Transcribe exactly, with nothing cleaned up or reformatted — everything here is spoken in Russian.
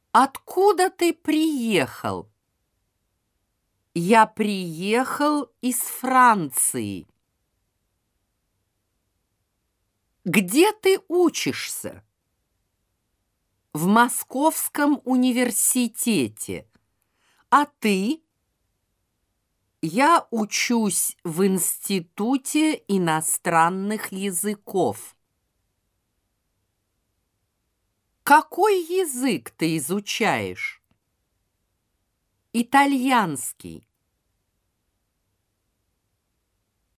Откуда ты приехал? Я приехал из Франции. Где ты учишься? В Московском университете. А ты? Я учусь в Институте иностранных языков. Какой язык ты изучаешь? Итальянский.